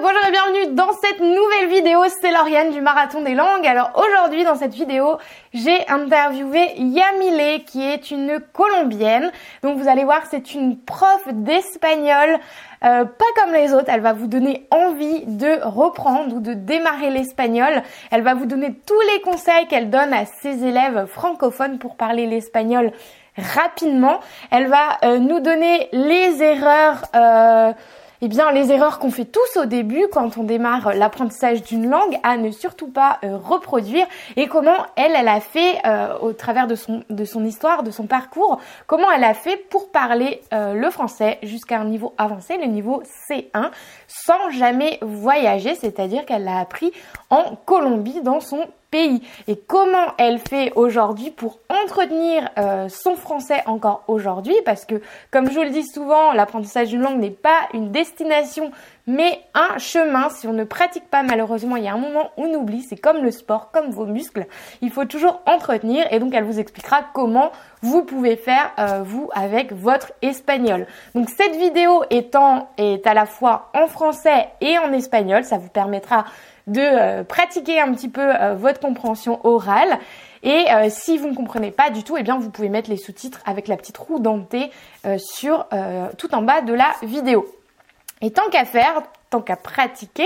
bonjour et bienvenue dans cette nouvelle vidéo, c'est Lauriane du Marathon des Langues. Alors aujourd'hui dans cette vidéo, j'ai interviewé Yamile qui est une Colombienne. Donc vous allez voir, c'est une prof d'espagnol, pas comme les autres. Elle va vous donner envie de reprendre ou de démarrer l'espagnol. Elle va vous donner tous les conseils qu'elle donne à ses élèves francophones pour parler l'espagnol rapidement. Elle va nous donner les erreurs les erreurs qu'on fait tous au début quand on démarre l'apprentissage d'une langue à ne surtout pas reproduire, et comment elle a fait au travers de son histoire, de son parcours, comment elle a fait pour parler le français jusqu'à un niveau avancé, le niveau C1, sans jamais voyager, c'est-à-dire qu'elle l'a appris en Colombie, dans son pays. Et comment elle fait aujourd'hui pour entretenir son français encore aujourd'hui, parce que comme je vous le dis souvent, l'apprentissage d'une langue n'est pas une destination mais un chemin. Si on ne pratique pas, malheureusement, il y a un moment où on oublie. C'est comme le sport, comme vos muscles, il faut toujours entretenir, et donc elle vous expliquera comment vous pouvez faire vous avec votre espagnol. Donc cette vidéo est à la fois en français et en espagnol, ça vous permettra de pratiquer un petit peu votre compréhension orale. Et si vous ne comprenez pas du tout, eh bien vous pouvez mettre les sous-titres avec la petite roue dentée tout en bas de la vidéo. Et tant qu'à faire, tant qu'à pratiquer,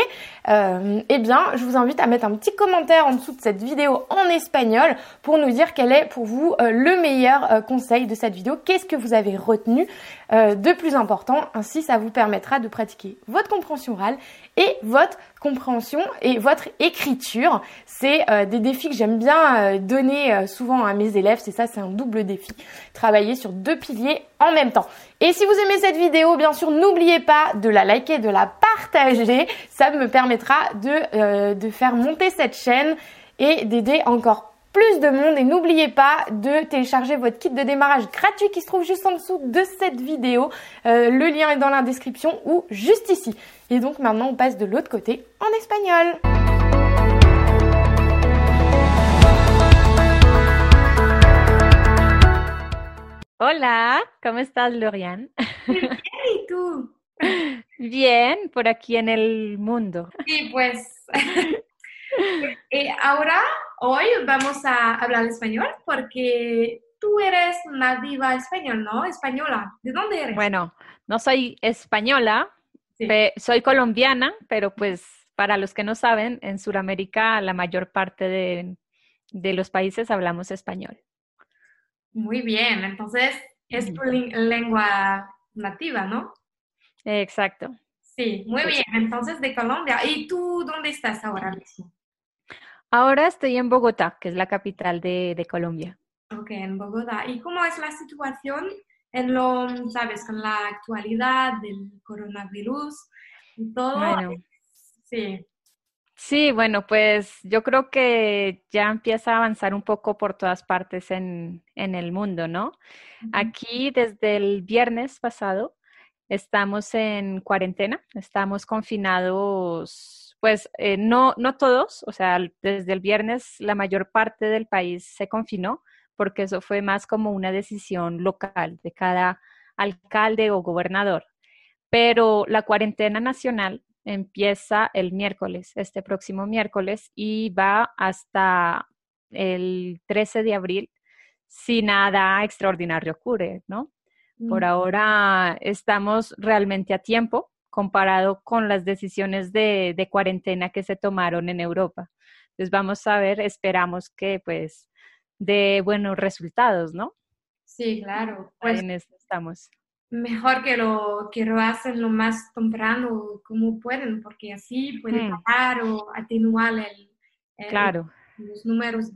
je vous invite à mettre un petit commentaire en dessous de cette vidéo en espagnol pour nous dire quel est pour vous le meilleur conseil de cette vidéo. Qu'est-ce que vous avez retenu de plus important? Ainsi, ça vous permettra de pratiquer votre compréhension orale et votre compréhension et votre écriture. C'est des défis que j'aime bien donner souvent à mes élèves. C'est un double défi. Travailler sur deux piliers en même temps. Et si vous aimez cette vidéo, bien sûr, n'oubliez pas de la liker, de la partager. Ça me permettra de faire monter cette chaîne et d'aider encore plus de monde. Et n'oubliez pas de télécharger votre kit de démarrage gratuit qui se trouve juste en dessous de cette vidéo. Le lien est dans la description ou juste ici. Et donc maintenant, on passe de l'autre côté en espagnol. Hola, ¿cómo estás, Lauriane? Bien, ¿y tú? Bien, por aquí en el mundo. Sí, pues hoy vamos a hablar español porque tú eres nativa español, ¿no? Española. ¿De dónde eres? Bueno, no soy española, Sí. soy colombiana, pero pues para los que no saben, en Sudamérica la mayor parte de los países hablamos español. Muy bien, entonces es tu lengua nativa, ¿no? Exacto. Sí, muy bien, entonces de Colombia. ¿Y tú dónde estás ahora mismo? Ahora estoy en Bogotá, que es la capital de Colombia. Ok, en Bogotá. ¿Y cómo es la situación sabes, con la actualidad del coronavirus y todo? Bueno. Sí. Sí, bueno, pues yo creo que ya empieza a avanzar un poco por todas partes en el mundo, ¿no? Aquí desde el viernes pasado estamos en cuarentena, estamos confinados, pues no todos, o sea, desde el viernes la mayor parte del país se confinó, porque eso fue más como una decisión local de cada alcalde o gobernador. Pero la cuarentena nacional empieza el miércoles, este próximo miércoles, y va hasta el 13 de abril si nada extraordinario ocurre, ¿no? Por ahora estamos realmente a tiempo comparado con las decisiones de cuarentena que se tomaron en Europa. Entonces vamos a ver, esperamos que pues dé buenos resultados, ¿no? Sí, claro. Pues en eso estamos. Mejor que lo hacen lo más temprano como pueden, porque así pueden bajar o atenuar Claro. los números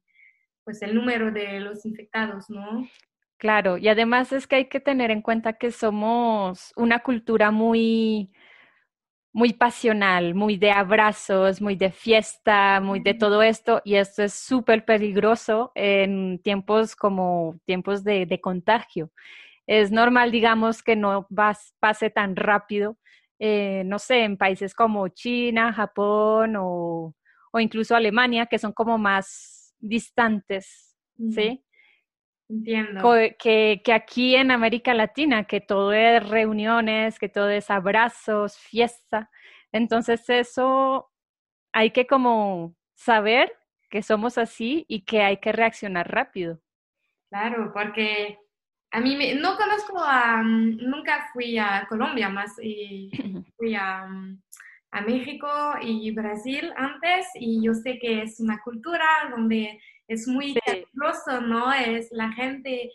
el número de los infectados, ¿no? Claro, y además es que hay que tener en cuenta que somos una cultura muy, muy pasional, muy de abrazos, muy de fiesta, muy de todo esto, y esto es súper peligroso en tiempos como tiempos de contagio. Es normal, digamos, que no pase tan rápido, no sé, en países como China, Japón o incluso Alemania, que son como más distantes, ¿sí? Entiendo. Que aquí en América Latina, que todo es reuniones, que todo es abrazos, fiesta. Entonces eso hay que como saber que somos así y que hay que reaccionar rápido. Claro, porque no conozco nunca fui a Colombia más y fui a México y Brasil antes y yo sé que es una cultura donde es muy Sí, caluroso, ¿no? La gente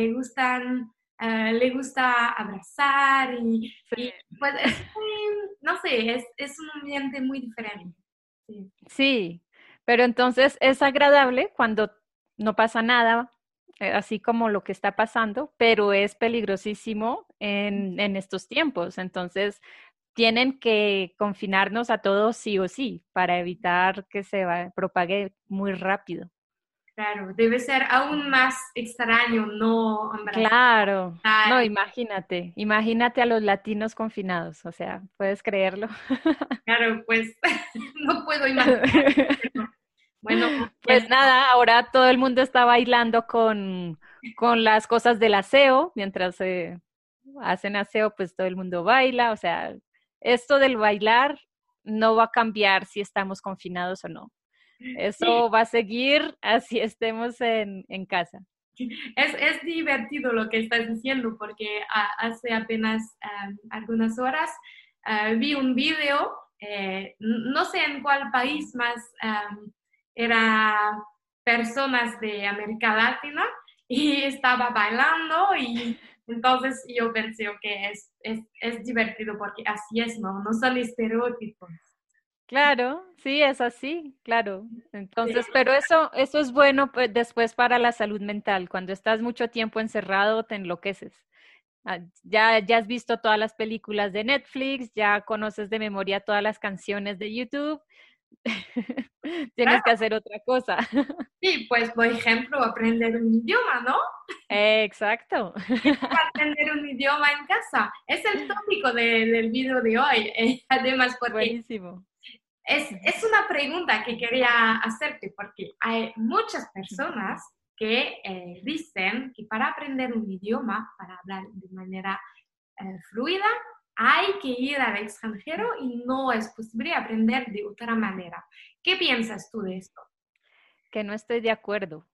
le gusta abrazar sí. y pues es muy, no sé, es un ambiente muy diferente. Sí. Sí, pero entonces es agradable cuando no pasa nada, así como lo que está pasando, pero es peligrosísimo en estos tiempos. Entonces, tienen que confinarnos a todos sí o sí para evitar que propague muy rápido. Claro, debe ser aún más extraño no abrazar. Claro, no, imagínate a los latinos confinados, o sea, ¿puedes creerlo? Claro, pues no puedo imaginar. Pero bueno, Pues nada, ahora todo el mundo está bailando con las cosas del aseo, mientras hacen aseo, pues todo el mundo baila, o sea, esto del bailar no va a cambiar si estamos confinados o no. sí, Eso va a seguir así estemos en casa. es divertido lo que estás diciendo porque hace apenas algunas horas vi un video, no sé en cuál país más, era personas de América Latina y estaba bailando y entonces yo pensé que es divertido porque así es, ¿no? No son estereotipos. Claro, sí, es así, claro. Sí. Entonces, pero eso es bueno pues, después para la salud mental. Cuando estás mucho tiempo encerrado, te enloqueces. Ya has visto todas las películas de Netflix, ya conoces de memoria todas las canciones de YouTube. Tienes que hacer otra cosa. Sí, pues por ejemplo, aprender un idioma, ¿no? Exacto. Aprender un idioma en casa. Es el tópico del video de hoy. Además, porque Buenísimo. es una pregunta que quería hacerte, porque hay muchas personas que dicen que para aprender un idioma, para hablar de manera fluida, hay que ir al extranjero y no es posible aprender de otra manera. ¿Qué piensas tú de esto? Que no estoy de acuerdo.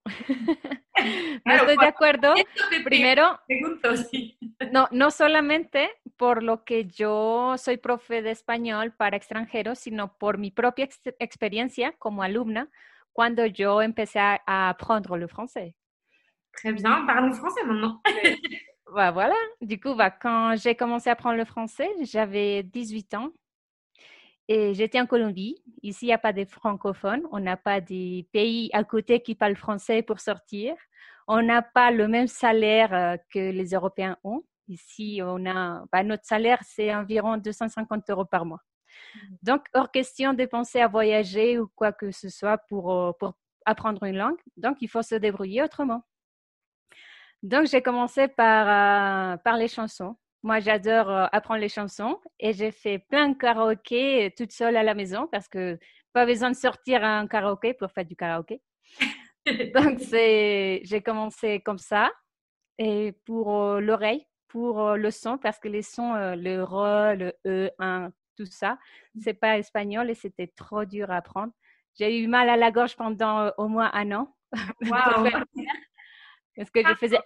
No Claro, estoy de por acuerdo. esto te Primero, pregunto, sí. no solamente por lo que yo soy profe de español para extranjeros, sino por mi propia experiencia como alumna cuando yo empecé a aprendre le français. Très bien, parle français maintenant. Oui. Bah, voilà. Du coup, bah, quand j'ai commencé à apprendre le français, j'avais 18 ans et j'étais en Colombie. Ici, il n'y a pas de francophones. On n'a pas des pays à côté qui parlent français pour sortir. On n'a pas le même salaire que les Européens ont. Ici, bah, notre salaire, c'est environ 250 euros par mois. Donc, hors question de penser à voyager ou quoi que ce soit pour apprendre une langue. Donc, il faut se débrouiller autrement. Donc, j'ai commencé par les chansons. Moi, j'adore apprendre les chansons et j'ai fait plein de karaoké toute seule à la maison parce que pas besoin de sortir à un karaoké pour faire du karaoké. Donc, j'ai commencé comme ça et pour l'oreille, pour le son parce que les sons, le re, le e, un, tout ça, c'est pas espagnol et c'était trop dur à apprendre. J'ai eu mal à la gorge pendant au moins un an pour Wow. faire parce que je faisais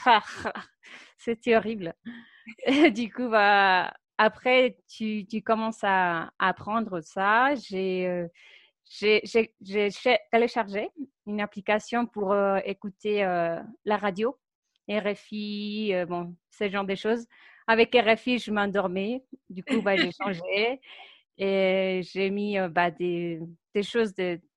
c'était horrible. Du coup, bah, après, tu commences à apprendre ça. J'ai téléchargé une application pour écouter la radio, RFI, bon, ce genre de choses. Avec RFI, je m'endormais. Du coup, bah, j'ai changé et j'ai mis bah, des choses,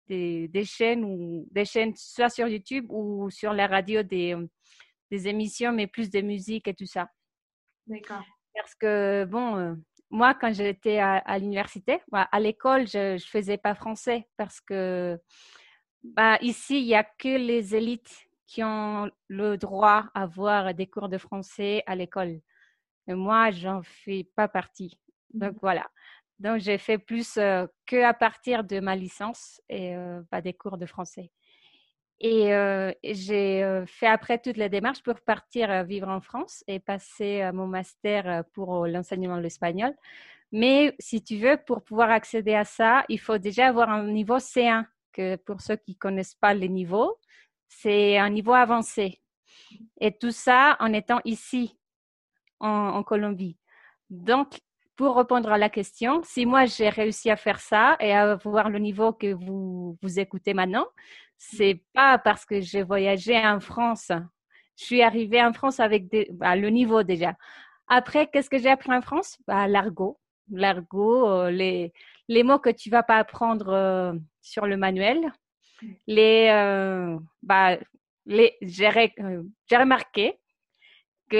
des chaînes soit sur YouTube ou sur la radio des émissions, mais plus de musique et tout ça. D'accord. Parce que, bon, moi, quand j'étais à l'université, bah, à l'école, je ne faisais pas français parce que bah, ici, il n'y a que les élites qui ont le droit à avoir des cours de français à l'école. Et moi, j'en fais pas partie. Donc, voilà. Donc, j'ai fait plus que à partir de ma licence et pas des cours de français. Et j'ai fait après toutes les démarches pour partir vivre en France et passer mon master pour l'enseignement de l'espagnol. Mais si tu veux, pour pouvoir accéder à ça, il faut déjà avoir un niveau C1, que pour ceux qui ne connaissent pas les niveaux, c'est un niveau avancé. Et tout ça en étant ici, en Colombie. Donc, pour répondre à la question, si moi j'ai réussi à faire ça et à avoir le niveau que vous écoutez maintenant, c'est pas parce que j'ai voyagé en France. Je suis arrivée en France avec le niveau déjà. Après, qu'est-ce que j'ai appris en France? L'argot. L'argot, les mots que tu vas pas apprendre sur le manuel. J'ai remarqué que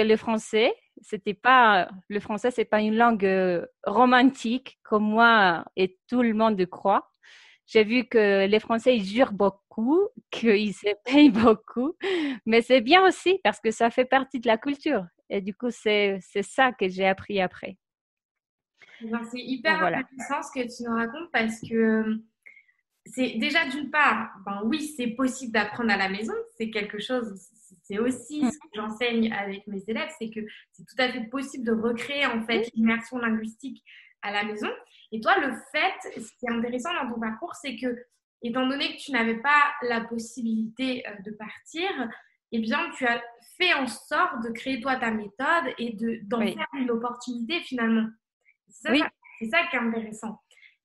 le français, c'est pas une langue romantique comme moi et tout le monde croit. J'ai vu que les Français, ils jurent beaucoup, qu'ils se payent beaucoup, mais c'est bien aussi parce que ça fait partie de la culture. Et du coup, c'est ça que j'ai appris après. Ben, c'est hyper Voilà. intéressant ce que tu nous racontes parce que c'est déjà d'une part, ben oui, c'est possible d'apprendre à la maison, c'est quelque chose, c'est aussi ce que j'enseigne avec mes élèves, c'est que c'est tout à fait possible de recréer en fait l'immersion linguistique à la maison. Et toi, le fait, ce qui est intéressant dans ton parcours, c'est que étant donné que tu n'avais pas la possibilité de partir, eh bien, tu as fait en sorte de créer toi ta méthode et d'en faire une opportunité finalement. C'est ça qui est intéressant.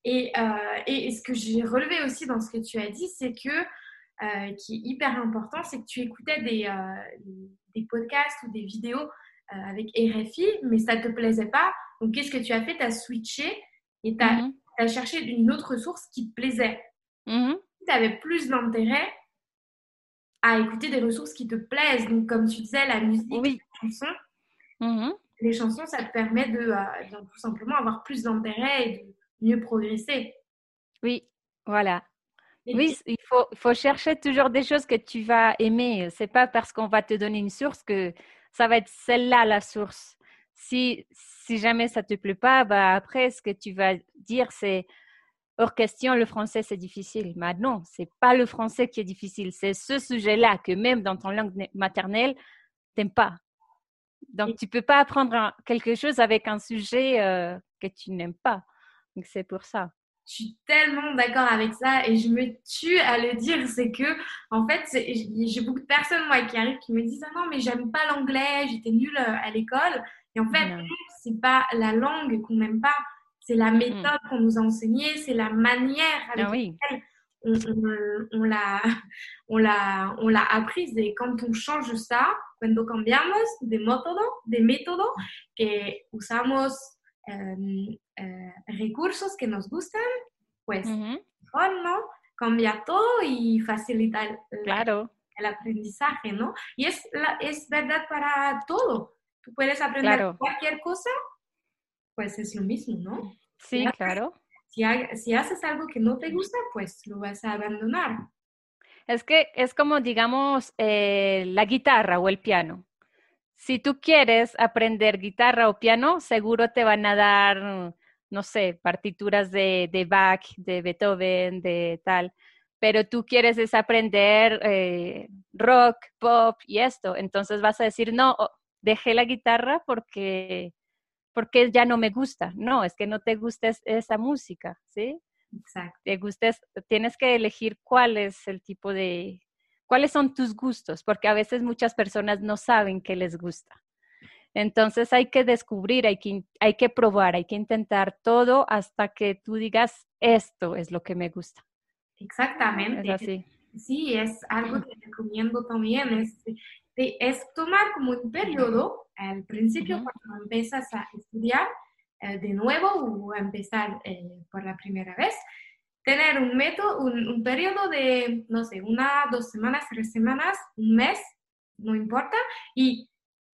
Et ce que j'ai relevé aussi dans ce que tu as dit, c'est que, qui est hyper important, c'est que tu écoutais des podcasts ou des vidéos avec RFI, mais ça ne te plaisait pas. Donc, qu'est-ce que tu as fait? Tu as switché et tu as cherché une autre source qui te plaisait. Tu avais plus d'intérêt à écouter des ressources qui te plaisent. Donc, comme tu disais, la musique, les chansons. Les chansons, ça te permet de tout simplement avoir plus d'intérêt et de mieux progresser. Oui, voilà. Oui, il faut chercher toujours des choses que tu vas aimer. C'est pas parce qu'on va te donner une source que ça va être celle-là la source. Si jamais ça te plaît pas, après ce que tu vas dire c'est hors question, le français c'est difficile. Mais non, c'est pas le français qui est difficile, c'est ce sujet-là que même dans ton langue maternelle t'aimes pas. Donc tu peux pas apprendre quelque chose avec un sujet que tu n'aimes pas. Donc c'est pour ça. Je suis tellement d'accord avec ça et je me tue à le dire. C'est que, en fait, j'ai beaucoup de personnes, moi, qui arrivent, qui me disent: ah non, mais j'aime pas l'anglais, j'étais nulle à l'école. Et en fait, c'est pas la langue qu'on n'aime pas, c'est la méthode qu'on nous a enseignée, c'est la manière avec laquelle on l'a apprise. Et quand on change ça, cuando cambiamos de método que usamos recursos que nos gustan, pues mejor, ¿no? Cambia todo y facilita el aprendizaje, ¿no? Y es verdad para todo. Tú puedes aprender cualquier cosa, pues es lo mismo, ¿no? Sí, claro. Si haces algo que no te gusta, pues lo vas a abandonar. Es que es como, digamos, la guitarra o el piano. Si tú quieres aprender guitarra o piano, seguro te van a dar, no sé, partituras de Bach, de Beethoven, de tal. Pero tú quieres es aprender rock, pop y esto. Entonces vas a decir, no, dejé la guitarra porque ya no me gusta. No, es que no te gusta esa música, ¿sí? Exacto. Tienes que elegir cuál es el tipo de, cuáles son tus gustos, porque a veces muchas personas no saben qué les gusta. Entonces hay que descubrir, hay que probar, hay que intentar todo hasta que tú digas, esto es lo que me gusta. Exactamente. Es así. Sí, es algo que recomiendo también. Es tomar como un periodo, al principio cuando empiezas a estudiar de nuevo o a empezar por la primera vez, tener un método, un periodo de, no sé, 1, 2 semanas, 3 semanas, un mes, no importa, y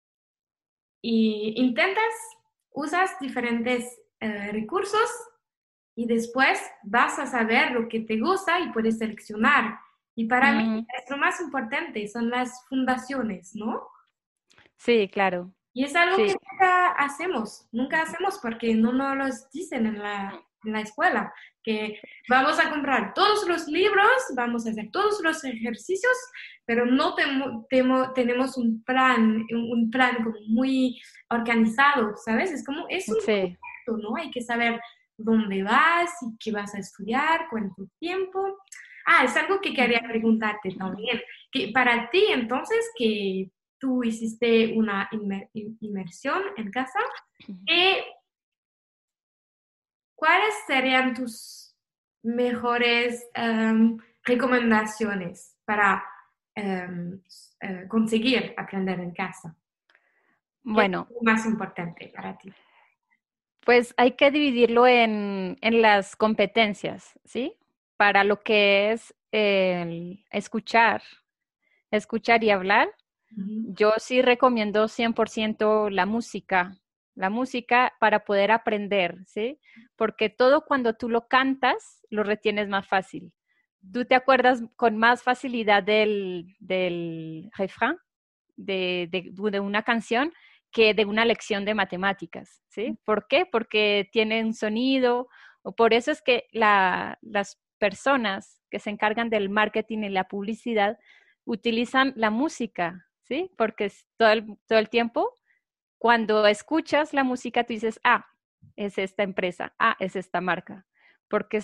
intentas, usas diferentes recursos y después vas a saber lo que te gusta y puedes seleccionar. Y para mí es lo más importante, son las fundaciones, ¿no? Sí, claro. Y es algo que nunca hacemos porque no nos los dicen en la escuela, que vamos a comprar todos los libros, vamos a hacer todos los ejercicios, pero no tenemos un plan como muy organizado, ¿sabes? Es como, es un ¿no? Hay que saber dónde vas y qué vas a estudiar, cuánto tiempo. Ah, es algo que quería preguntarte también. Que para ti, entonces, que tú hiciste una inmersión en casa, ¿qué ¿cuáles serían tus mejores recomendaciones para conseguir aprender en casa? ¿Qué es Bueno, lo más importante para ti? pues hay que dividirlo en las competencias, ¿sí? Para lo que es el escuchar y hablar, Ujú. yo sí recomiendo 100% la música para poder aprender, ¿sí? Porque todo cuando tú lo cantas, lo retienes más fácil. Tú te acuerdas con más facilidad del refrán de una canción que de una lección de matemáticas, ¿sí? ¿Por qué? Porque tiene un sonido, o por eso es que las personas que se encargan del marketing y la publicidad utilizan la música, ¿sí? Porque todo el tiempo, cuando escuchas la música, tú dices, ah, es esta empresa, ah, es esta marca, porque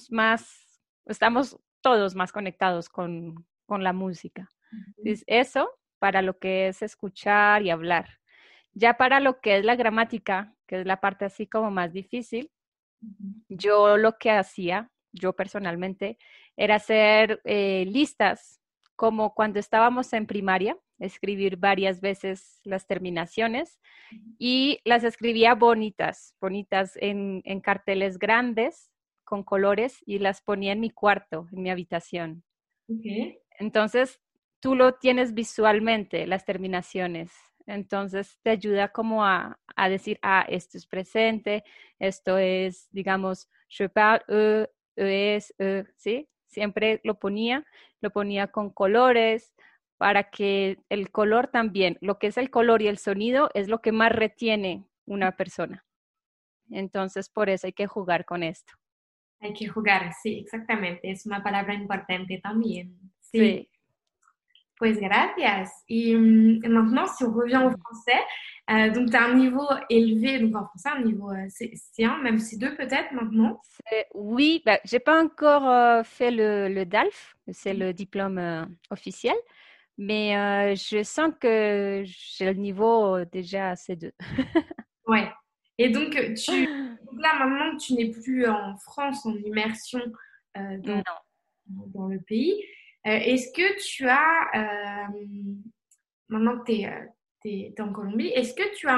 estamos todos más conectados con la música. Entonces, eso para lo que es escuchar y hablar. Ya para lo que es la gramática, que es la parte así como más difícil, yo lo que hacía, yo personalmente, era hacer listas, como cuando estábamos en primaria, escribir varias veces las terminaciones y las escribía bonitas, bonitas en carteles grandes con colores y las ponía en mi cuarto, en mi habitación. Okay. Entonces, tú lo tienes visualmente, las terminaciones. Entonces, te ayuda como a decir, ah, esto es presente, esto es, digamos, je parle, es, ¿sí? Siempre lo ponía con colores para que el color también, lo que es el color y el sonido es lo que más retiene una persona. Entonces, por eso hay que jugar con esto. Hay que jugar, sí, exactamente. Es una palabra importante también. Sí. Sí. Pues gracias. Et maintenant, si on revient au français, donc tu as un niveau élevé, donc en français, un niveau C1, même C2 peut-être maintenant. Oui, bah, j'ai pas encore fait le DALF, c'est le diplôme officiel, mais je sens que j'ai le niveau déjà C2. Ouais. Et donc, donc là, maintenant que tu n'es plus en France en immersion Non. dans le pays, est-ce que tu as, maintenant que tu es, en Colombie, est-ce que tu as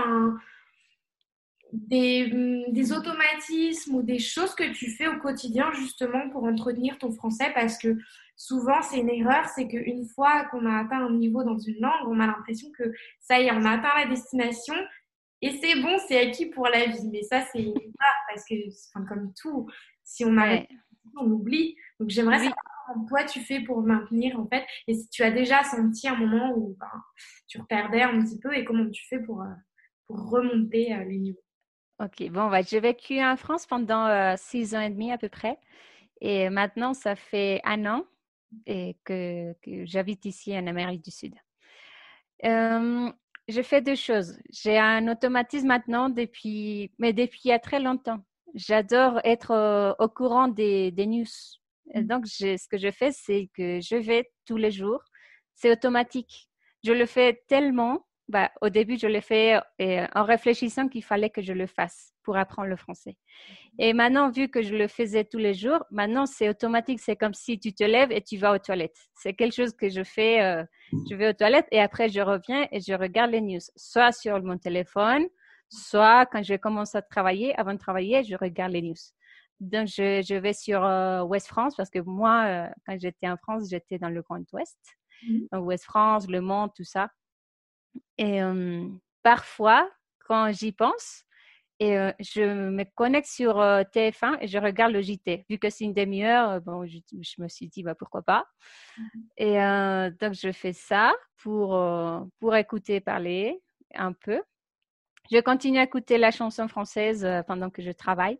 des automatismes ou des choses que tu fais au quotidien justement pour entretenir ton français? Parce que souvent, c'est une erreur, c'est qu'une fois qu'on a atteint un niveau dans une langue, on a l'impression que ça y est, on a atteint la destination et c'est bon, c'est acquis pour la vie. Mais ça, c'est une erreur parce que, enfin, comme tout, si on arrête, Ouais. on oublie. Donc, j'aimerais savoir Oui, comment toi tu fais pour maintenir en fait, et si tu as déjà senti un moment où ben, tu perdais un petit peu et comment tu fais pour remonter les niveaux. ok. Bon, bah, j'ai vécu en France pendant 6 ans et demi à peu près. Et maintenant, ça fait un an que j'habite ici en Amérique du Sud. Euh, je fais deux choses. J'ai un automatisme maintenant mais depuis il y a très longtemps. J'adore être au courant des news. Et donc, ce que je fais, c'est que je vais tous les jours. C'est automatique. Je le fais tellement. Bah, au début, je l'ai fait en réfléchissant qu'il fallait que je le fasse pour apprendre le français. Et maintenant, vu que je le faisais tous les jours, maintenant c'est automatique. C'est comme si tu te lèves et tu vas aux toilettes. C'est quelque chose que je fais. Je vais aux toilettes et après je reviens et je regarde les news, soit sur mon téléphone, soit quand je commence à travailler. Avant de travailler, je regarde les news. Donc je vais sur Ouest France parce que moi, quand j'étais en France, j'étais dans le Grand Ouest. Donc Ouest France, Le Monde, tout ça. Et parfois, quand j'y pense, et je me connecte sur TF1 et je regarde le JT. Vu que c'est une demi-heure, bon, je me suis dit, bah, pourquoi pas. Et donc, je fais ça pour écouter parler un peu. Je continue à écouter la chanson française pendant que je travaille.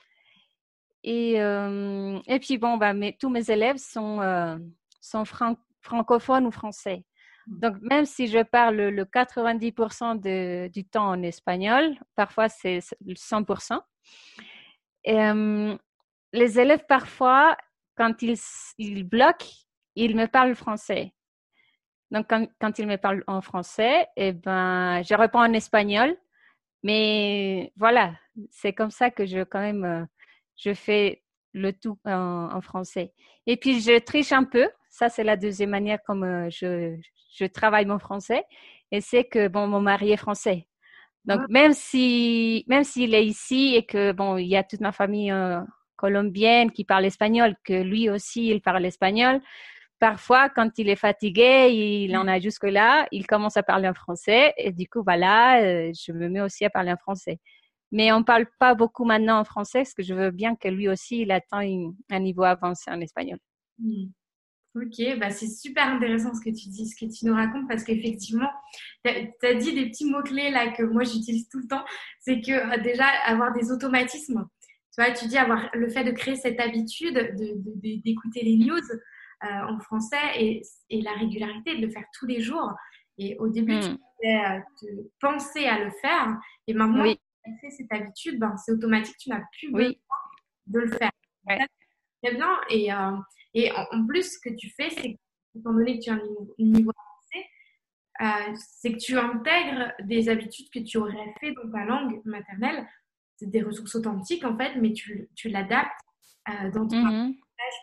Et puis, bon, bah, tous mes élèves sont francophones ou français. Donc, même si je parle le 90% du temps en espagnol, parfois c'est 100%. Euh, les élèves, parfois, quand ils bloquent, ils me parlent français. Donc, quand ils me parlent en français, eh ben, je réponds en espagnol. Mais voilà, c'est comme ça que quand même, je fais le tout en français. Et puis, je triche un peu. Ça, c'est la deuxième manière comme je travaille mon français. Et c'est que, bon, mon mari est français. Donc, Ah, même s'il est ici et que, bon, il y a toute ma famille colombienne qui parle espagnol, que lui aussi, il parle espagnol, parfois, quand il est fatigué, il en a jusque-là, il commence à parler en français et du coup, voilà, je me mets aussi à parler en français. Mais on ne parle pas beaucoup maintenant en français parce que je veux bien que lui aussi, il atteigne un niveau avancé en espagnol. hmm. Ok, bah c'est super intéressant ce que tu dis, ce que tu nous racontes, parce qu'effectivement, tu as dit des petits mots-clés là que moi j'utilise tout le temps. C'est que déjà, avoir des automatismes. Tu vois, tu dis avoir le fait de créer cette habitude d'écouter les news en français et la régularité, de le faire tous les jours. Et au début, tu Hmm. devais te penser à le faire. Et maintenant, Oui, tu as fait cette habitude, ben, c'est automatique, tu n'as plus besoin oui, de le faire. ouais. Très bien. Et en plus, ce que tu fais, c'est que, étant donné que tu as un niveau avancé, c'est que tu intègres des habitudes que tu aurais fait dans ta langue maternelle. C'est des ressources authentiques, en fait, mais tu l'adaptes dans ton Mhm. langage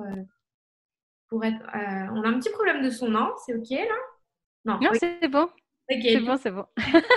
pour être on a un petit problème de son, non? C'est OK, là? Non. Non, OK. c'est bon, c'est OK. bon, c'est bon.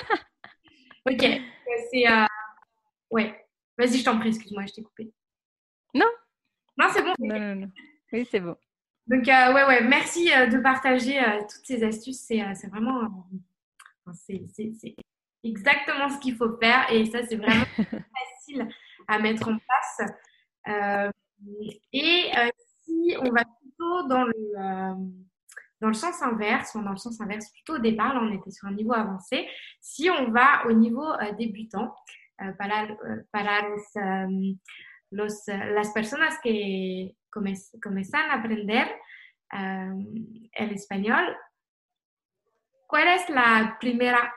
OK. C'est... ouais. Vas-y, je t'en prie, excuse-moi, je t'ai coupé. Non, Non, c'est bon. non, non, non. Oui, c'est bon. Donc, ouais, merci de partager toutes ces astuces. C'est vraiment... enfin, c'est exactement ce qu'il faut faire et ça, c'est vraiment facile à mettre en place. Euh, et si on va plutôt dans le sens inverse, enfin, dans le sens inverse, plutôt au départ, là, on était sur un niveau avancé. Si on va au niveau débutant, para las personas que comienzan a aprender el español, ¿cuál es la primera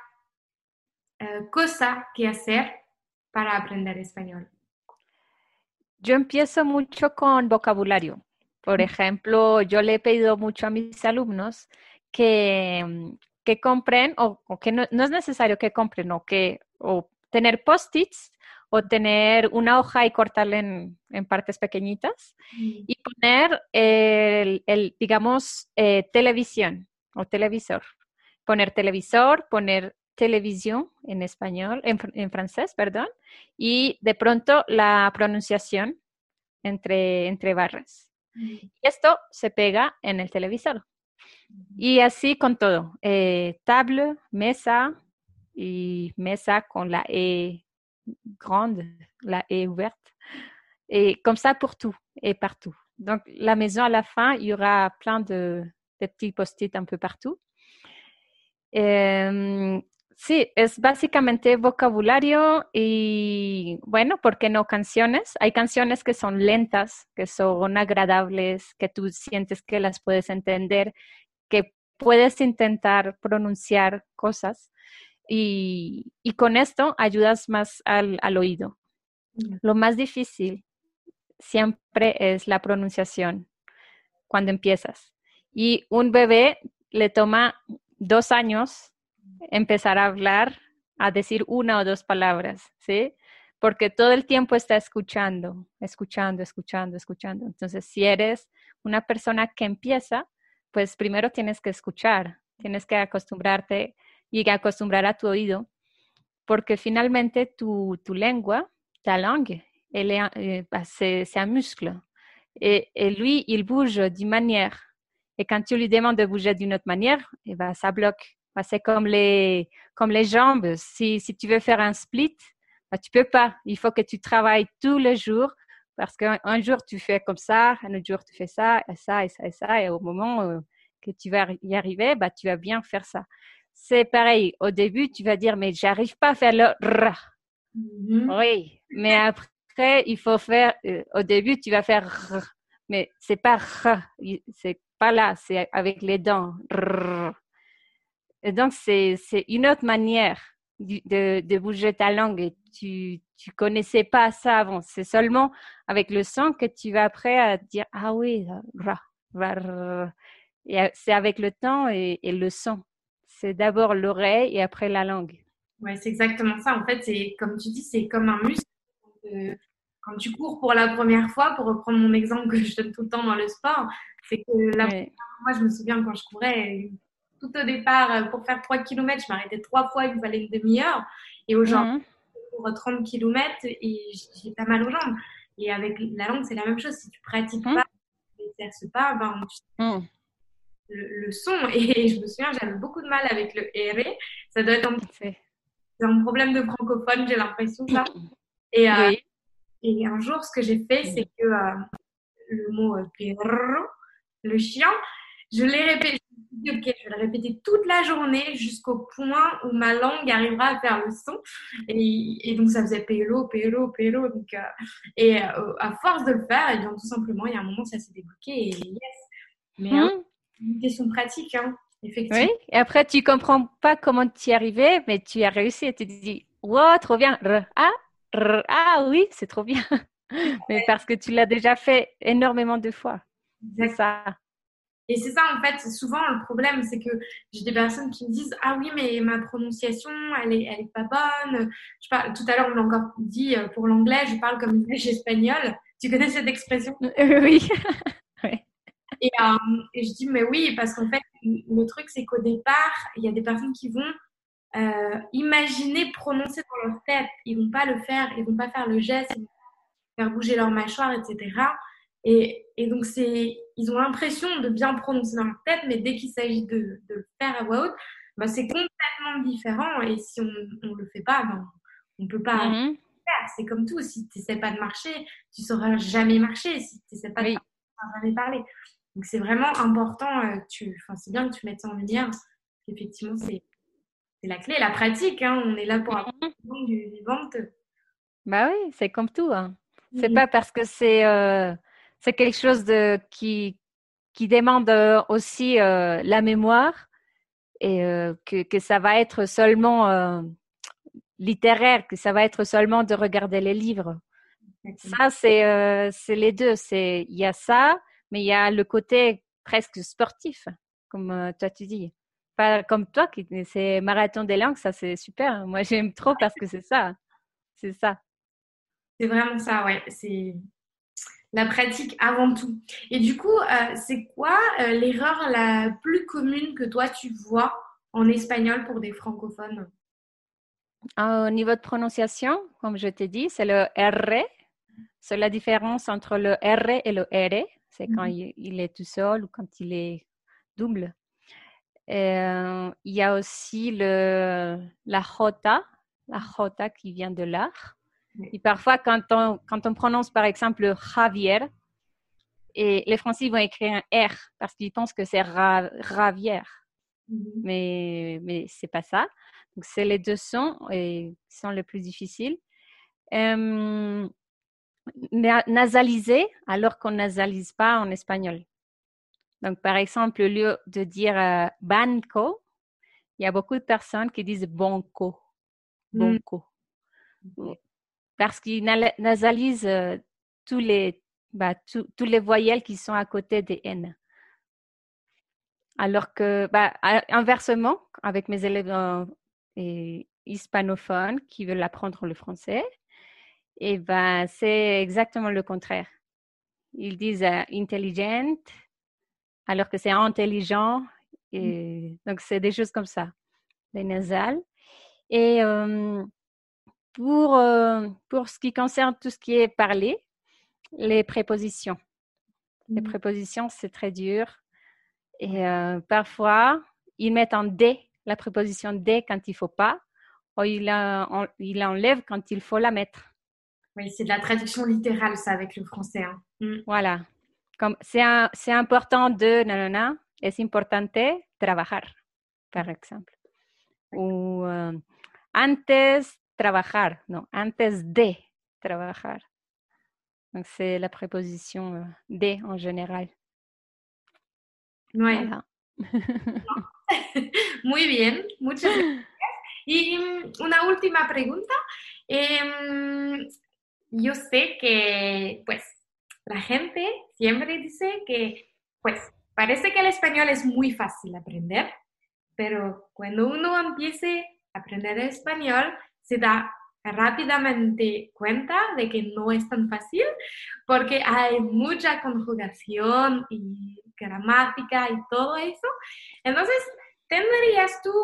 cosa que hacer para aprender español? Yo empiezo mucho con vocabulario. Por ejemplo, yo le he pedido mucho a mis alumnos que compren, o que no es necesario que compren, o tener post-its, o tener una hoja y cortarla en partes pequeñitas, Mm. y poner digamos, televisión o televisor. Poner televisor, poner televisión en español, en francés, perdón, y de pronto la pronunciación entre barras. Mm. Y esto se pega en el televisor. Y así con todo. Table, mesa y mesa con la E grande, la E ouverte. Et comme ça pour tout et partout. Donc, la maison, à la fin, il y aura plein de petits post-it un peu partout. Sí, es básicamente vocabulario y, bueno, ¿por qué no canciones? Hay canciones que son lentas, que son agradables, que tú sientes que las puedes entender, que puedes intentar pronunciar cosas y con esto ayudas más al oído. Mm. Lo más difícil siempre es la pronunciación cuando empiezas. Y un bebé le toma 2 años empezar a hablar, a decir una o dos palabras, ¿sí? Porque todo el tiempo está escuchando, escuchando, escuchando, escuchando. Entonces, si eres una persona que empieza, pues primero tienes que escuchar, tienes que acostumbrarte y acostumbrar a tu oído, porque finalmente tu lengua, ta langue, c'est un muscle. Et lui, il bouge d'une manière. Et quand tu lui demandes de bouger d'une autre manière, eh ben, ça bloque. Ben, c'est comme les jambes. Si tu veux faire un split, ben, tu peux pas. Il faut que tu travailles tous les jours parce qu'un jour, tu fais comme ça, un autre jour, tu fais ça, et ça, et ça, et ça. Et au moment que tu vas y arriver, ben, tu vas bien faire ça. C'est pareil. Au début, tu vas dire, mais j'arrive pas à faire le r. Mhm. Oui, mais après, il faut faire, au début, tu vas faire r, mais c'est pas r, c'est pas là, c'est avec les dents. R. Et donc, c'est une autre manière de bouger ta langue et tu connaissais pas ça avant. C'est seulement avec le son que tu vas après à dire ah oui, ra, ra, ra. Et c'est avec le temps et le son. C'est d'abord l'oreille et après la langue. Ouais, c'est exactement ça. En fait, c'est comme tu dis, c'est comme un muscle. Euh, Quand tu cours pour la première fois, pour reprendre mon exemple que je donne tout le temps dans le sport, c'est que Oui. moi, je me souviens quand je courais, tout au départ, pour faire 3 kilomètres, je m'arrêtais 3 fois, il me fallait une demi-heure. Et aujourd'hui, Mhm. pour 30 kilomètres, et j'ai pas mal aux jambes. Et avec la langue, c'est la même chose. Si tu pratiques Mhm. pas, tu n'exerces pas, ben, Mhm. le son. Et je me souviens, j'avais beaucoup de mal avec le R. Ça doit être C'est- un problème de francophone, j'ai l'impression, ça. Et, Oui. et un jour, ce que j'ai fait, c'est que le mot perro, le chien, je l'ai répété. Je me suis dit, ok, je vais le répéter toute la journée jusqu'au point où ma langue arrivera à faire le son. Et donc, ça faisait pélo, pélo, pélo. Donc, à force de le faire, et bien, tout simplement, il y a un moment, ça s'est débloqué et yes. Mais Mhm. une question pratique, hein, Oui. effectivement. Et après, tu comprends pas comment tu y arrivais, mais tu y as réussi et tu te dis, wow, trop bien. Ah oui, c'est trop bien. Mais parce que tu l'as déjà fait énormément de fois. C'est Exact. ça. Et c'est ça, en fait, souvent le problème, c'est que j'ai des personnes qui me disent, ah oui, mais ma prononciation, elle est pas bonne. Je parle, tout à l'heure, on l'a encore dit pour l'anglais, je parle comme une vache espagnole. Tu connais cette expression? Oui. Oui. Et, et je dis, mais oui, parce qu'en fait, le truc, c'est qu'au départ, il y a des personnes qui vont imaginer prononcer dans leur tête. Ils vont pas le faire, ils vont pas faire le geste, ils vont faire bouger leur mâchoire, etc. Et donc, ils ont l'impression de bien prononcer dans leur tête, mais dès qu'il s'agit de le faire à voix haute, bah, c'est complètement différent. Et si on ne le fait pas, ben, on ne peut pas le Mhm. faire. C'est comme tout. Si tu n'essaies pas de marcher, tu ne sauras jamais marcher. Si tu n'essaies pas de Oui. parler, tu ne sauras jamais parler. Donc, c'est vraiment important. Enfin, c'est bien que tu mettes ça en lumière. Effectivement, c'est la clé, la pratique. Hein. On est là pour apprendre Mhm. une langue vivante. Bah oui, c'est comme tout, hein. C'est Mm. pas parce que c'est quelque chose qui demande aussi la mémoire et que ça va être seulement littéraire, que ça va être seulement de regarder les livres. Exactement. Ça, c'est les deux. Il y a ça, mais il y a le côté presque sportif, comme toi tu dis. Pas comme toi, c'est marathon des langues, ça c'est super. Moi, j'aime trop parce que c'est ça. C'est ça. C'est vraiment ça, ouais. C'est la pratique avant tout. Et du coup, c'est quoi l'erreur la plus commune que toi tu vois en espagnol pour des francophones? Au niveau de prononciation, comme je t'ai dit, c'est le R. C'est la différence entre le R et le R. C'est quand Mhm. il est tout seul ou quand il est double. Il y a aussi la J qui vient de l'art. Ouais. Et parfois, quand on prononce par exemple Javier, et les Français vont écrire un R parce qu'ils pensent que c'est Ravière. Mhm. Mais c'est pas ça. Donc, c'est les deux sons et qui sont les plus difficiles. Euh, Nasaliser alors qu'on nasalise pas en espagnol. Donc, par exemple, au lieu de dire banco, il y a beaucoup de personnes qui disent bonco, Mhm. bonco, parce qu'ils nasalisent tous les voyelles qui sont à côté des N. Alors que, inversement, avec mes élèves hispanophones qui veulent apprendre le français, et ben, c'est exactement le contraire. Ils disent intelligent, alors que c'est intelligent. Et donc, c'est des choses comme ça, les nasales. Et pour ce qui concerne tout ce qui est parlé, les prépositions. Les Mhm. prépositions, c'est très dur. Et parfois, ils mettent en D, la préposition D quand il ne faut pas, ou il enlève quand il faut la mettre. Oui, c'est de la traduction littérale, ça, avec le français. Hein. Mhm. Voilà. Comme c'est important de nanana, es importante trabajar, par exemple. Ou antes trabajar, non, antes de trabajar. Donc, c'est la préposition de en général. Ouais. Voilà. Muy bien, muchas gracias. Y una última pregunta. Em, yo sé que, pues, la gente siempre dice que, pues, parece que el español es muy fácil aprender, pero cuando uno empiece a aprender español, se da rápidamente cuenta de que no es tan fácil porque hay mucha conjugación y gramática y todo eso. Entonces, ¿tendrías tú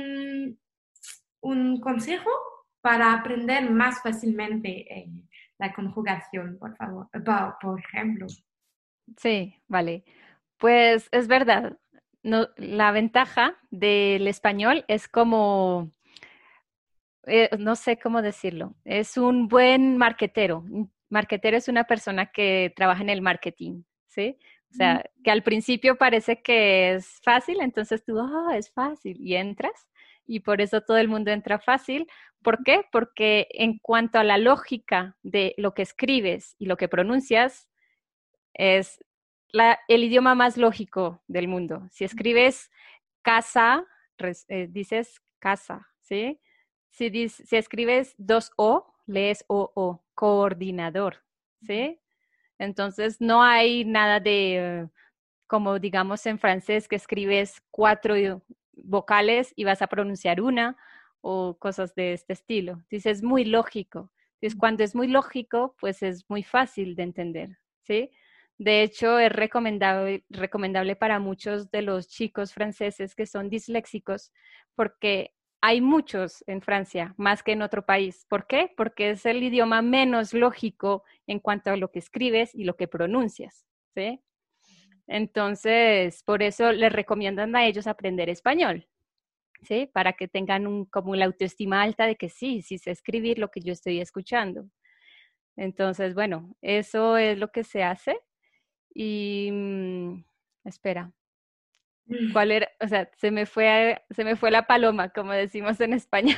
un consejo para aprender más fácilmente la conjugación, por favor? Por ejemplo. Sí, vale. Pues es verdad. No, la ventaja del español es como, no sé cómo decirlo, es un buen marquetero. Un marquetero es una persona que trabaja en el marketing, ¿sí? O sea, que al principio parece que es fácil, entonces tú, es fácil, y entras, y por eso todo el mundo entra fácil. ¿Por qué? Porque en cuanto a la lógica de lo que escribes y lo que pronuncias, es el idioma más lógico del mundo. Si escribes casa, dices casa, ¿sí? Si escribes dos O, lees O, coordinador, ¿sí? Entonces no hay nada de, como digamos en francés, que escribes cuatro vocales y vas a pronunciar una o cosas de este estilo. Dices, es muy lógico. Entonces, cuando es muy lógico, pues es muy fácil de entender, ¿sí? De hecho, es recomendable para muchos de los chicos franceses que son disléxicos, porque hay muchos en Francia, más que en otro país. ¿Por qué? Porque es el idioma menos lógico en cuanto a lo que escribes y lo que pronuncias, ¿sí? Entonces, por eso les recomiendan a ellos aprender español, ¿sí? Para que tengan como la autoestima alta de que sí sé escribir lo que yo estoy escuchando. Entonces, bueno, eso es lo que se hace. Y espera, ¿cuál era? O sea, se me fue la paloma, como decimos en España.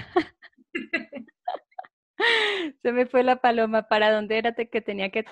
Se me fue la paloma. ¿Para dónde era que tenía que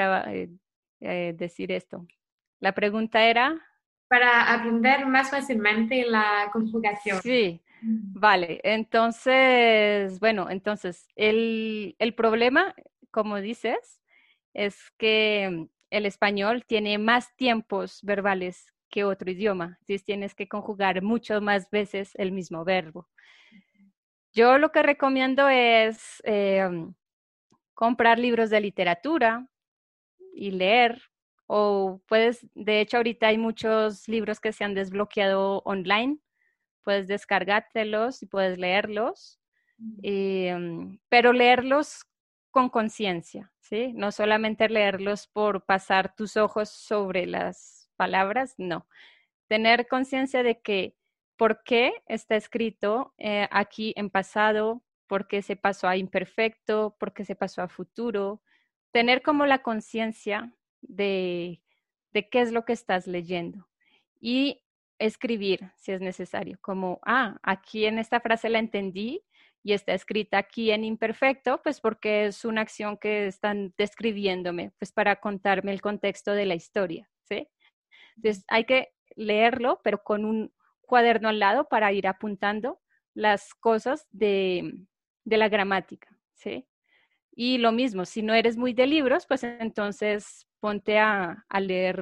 decir esto? La pregunta era, Para aprender más fácilmente la conjugación. sí, vale. Entonces, bueno, entonces, el problema, como dices, es que el español tiene más tiempos verbales que otro idioma. Entonces tienes que conjugar mucho más veces el mismo verbo. Yo lo que recomiendo es comprar libros de literatura y leer. O puedes, de hecho, ahorita hay muchos libros que se han desbloqueado online. Puedes descargártelos y puedes leerlos, pero leerlos con conciencia, ¿sí? No solamente leerlos por pasar tus ojos sobre las palabras, no. Tener conciencia de que por qué está escrito aquí en pasado, por qué se pasó a imperfecto, por qué se pasó a futuro. Tener como la conciencia de qué es lo que estás leyendo. Y escribir si es necesario, como, aquí en esta frase la entendí y está escrita aquí en imperfecto, pues porque es una acción que están describiéndome, pues para contarme el contexto de la historia, ¿sí? Entonces hay que leerlo, pero con un cuaderno al lado para ir apuntando las cosas de la gramática, ¿sí? Y lo mismo, si no eres muy de libros, pues entonces ponte a leer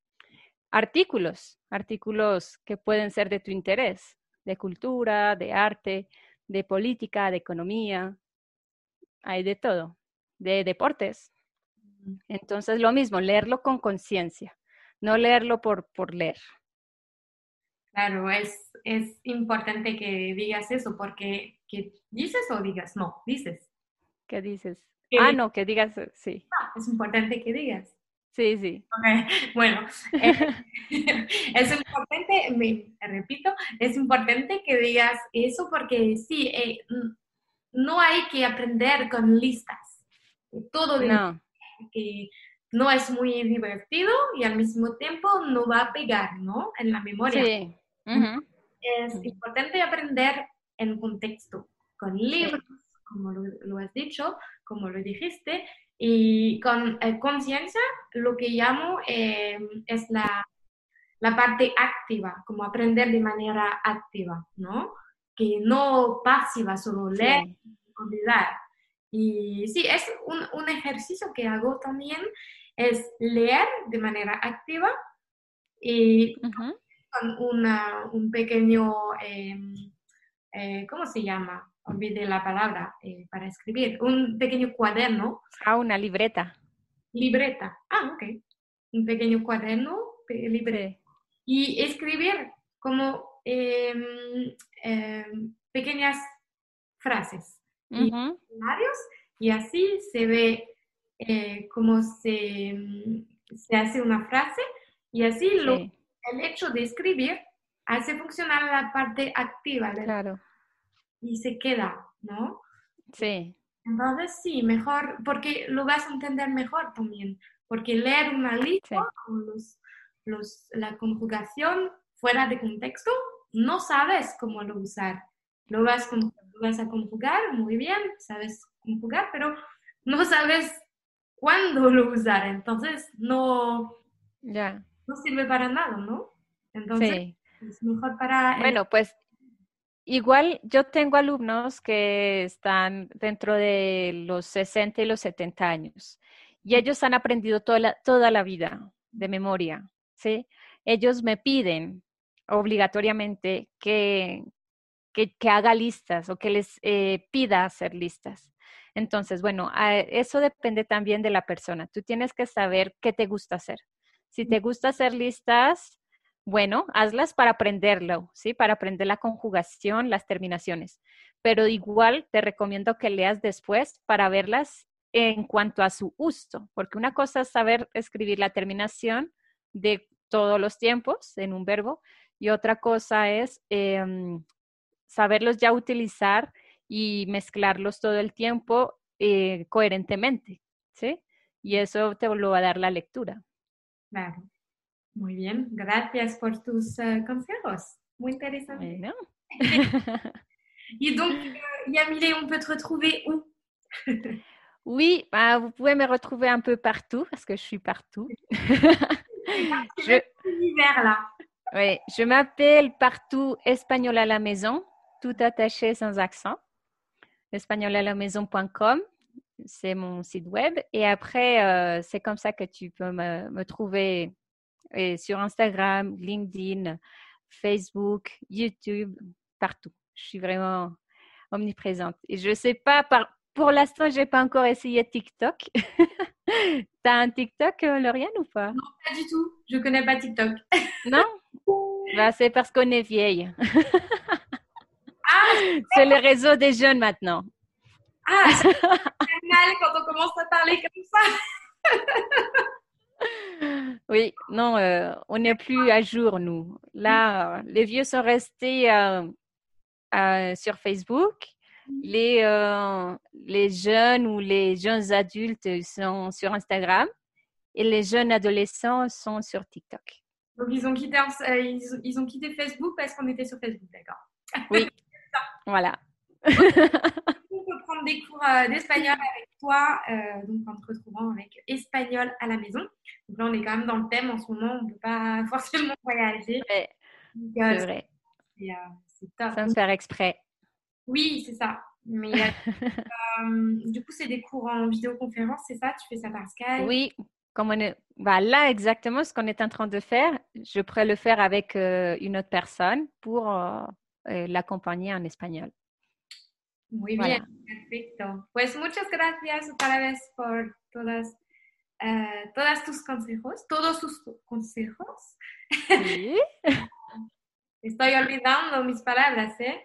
artículos que pueden ser de tu interés, de cultura, de arte, de política, de economía, hay de todo, de deportes. Entonces lo mismo, leerlo con conciencia, no leerlo por leer. Claro, es importante que digas eso, porque que dices o digas, no, dices. ¿Qué dices? Que No, que digas, sí, es importante que digas. sí, sí, Ok, bueno, es importante, me repito, es importante que digas eso porque sí, no hay que aprender con listas. Todo de no, que no es muy divertido y al mismo tiempo no va a pegar, ¿no? En la memoria. sí, ujú, Es importante aprender en contexto, con libros, sí, como lo has dicho, como lo dijiste, y con conciencia, lo que llamo es la parte activa, como aprender de manera activa, ¿no? que no pasiva, solo leer Sí. y olvidar. Y sí, es un ejercicio que hago también, es leer de manera activa y Ujú. con un pequeño, ¿cómo se llama? Olvidé la palabra para escribir. Un pequeño cuaderno, Ah, una libreta. libreta. Ah, ok. Un pequeño cuaderno, libreta. Sí. Y escribir como pequeñas frases y Ujú. escenarios, y así se ve cómo se hace una frase, y así Sí, el hecho de escribir hace funcionar la parte activa claro. y se queda, ¿no? Sí, Entonces sí, mejor, porque lo vas a entender mejor también, porque leer una lista sí, con la conjugación fuera de contexto, no sabes cómo lo usar. Lo vas a conjugar muy bien, sabes conjugar, pero no sabes cuándo lo usar, entonces ya. no sirve para nada, ¿no? Entonces Sí. es mejor para el... Bueno, pues igual yo tengo alumnos que están dentro de los 60 y los 70 años y ellos han aprendido toda la vida de memoria, ¿sí? Ellos me piden obligatoriamente que haga listas o que les pida hacer listas. Entonces, bueno, eso depende también de la persona. Tú tienes que saber qué te gusta hacer. Si te gusta hacer listas, bueno, hazlas para aprenderlo, ¿sí? Para aprender la conjugación, las terminaciones. Pero igual te recomiendo que leas después para verlas en cuanto a su uso, porque una cosa es saber escribir la terminación de todos los tiempos en un verbo y otra cosa es saberlos ya utilizar y mezclarlos todo el tiempo coherentemente, ¿sí? Y eso te lo va a dar la lectura. Claro, muy bien, gracias por tus consejos, muy interesante. Bueno. Et donc, Yamile, on peut te retrouver où? Oui, bah, vous pouvez me retrouver un peu partout parce que je suis partout. C'est parti je, même l'univers là. ouais, je m'appelle partout Espagnol à la maison, tout attaché sans accent. Espagnolalaamaison.com, c'est mon site web. Et après, c'est comme ça que tu peux me trouver sur Instagram, LinkedIn, Facebook, YouTube, partout. Je suis vraiment omniprésente. Et je sais pas, pour l'instant, j'ai pas encore essayé TikTok. T'as un TikTok, Lauriane, ou pas? Non, pas du tout. Je connais pas TikTok. Non? Bah, c'est parce qu'on est vieille. Ah, C'est le réseau des jeunes maintenant. ça fait mal quand on commence à parler comme ça. Oui, non, on n'est plus à jour, nous. Là, les vieux sont restés sur Facebook. Les jeunes ou les jeunes adultes sont sur Instagram et les jeunes adolescents sont sur TikTok. Donc ils ont quitté Facebook parce qu'on était sur Facebook, d'accord. Oui, voilà. On peut prendre des cours d'espagnol avec toi, donc en te retrouvant avec Espagnol à la maison. Donc là, on est quand même dans le thème en ce moment, on ne peut pas forcément voyager. Ouais, Donc, c'est vrai, c'est top. sans Donc, faire exprès. oui, c'est ça. Mais du coup, c'est des cours en vidéoconférence, c'est ça? Tu fais ça par Skype? Oui, comme bah là exactement ce qu'on est en train de faire, je pourrais le faire avec une autre personne pour l'accompagner en espagnol. Muy bien, Voilà. perfecto. Pues muchas gracias otra vez por todas tus consejos, todos tus consejos. Sí. Estoy olvidando mis palabras, ¿eh?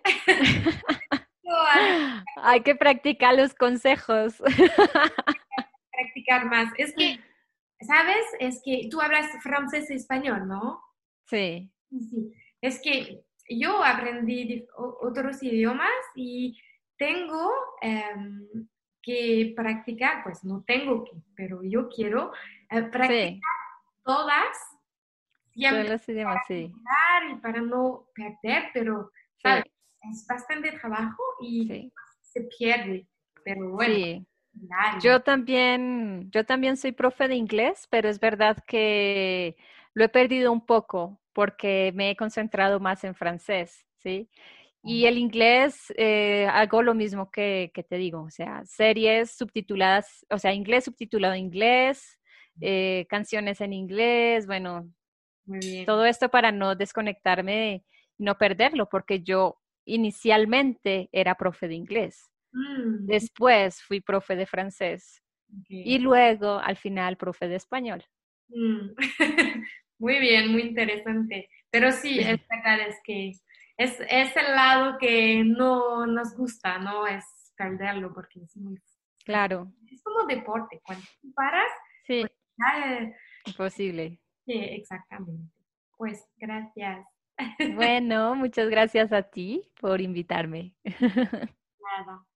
Hay que practicar los consejos. Practicar más. Es que, ¿sabes? Es que tú hablas francés y español, ¿no? Sí, Sí. Es que yo aprendí otros idiomas y tengo que practicar, pues no tengo que, pero yo quiero practicar sí, todas todos siempre los idiomas, sí, y para no perder, pero, ¿sabes? sí, Es bastante trabajo y sí, se pierde, pero bueno, sí. claro. Yo también soy profe de inglés, pero es verdad que lo he perdido un poco porque me he concentrado más en francés, ¿sí? Y el inglés, hago lo mismo que te digo, o sea, series subtituladas, o sea, inglés subtitulado en inglés, canciones en inglés, bueno, Muy bien. todo esto para no desconectarme y no perderlo, porque yo inicialmente era profe de inglés, Mm, después fui profe de francés y ok. luego al final profe de español. Mm. Muy bien, muy interesante. Pero sí, es verdad, es que es el lado que no nos gusta, ¿no? Es perderlo porque es muy... Claro, Es como deporte, cuando tú paras, pues sí, ya, imposible. sí, exactamente. Pues gracias. Bueno, muchas gracias a ti por invitarme. Nada.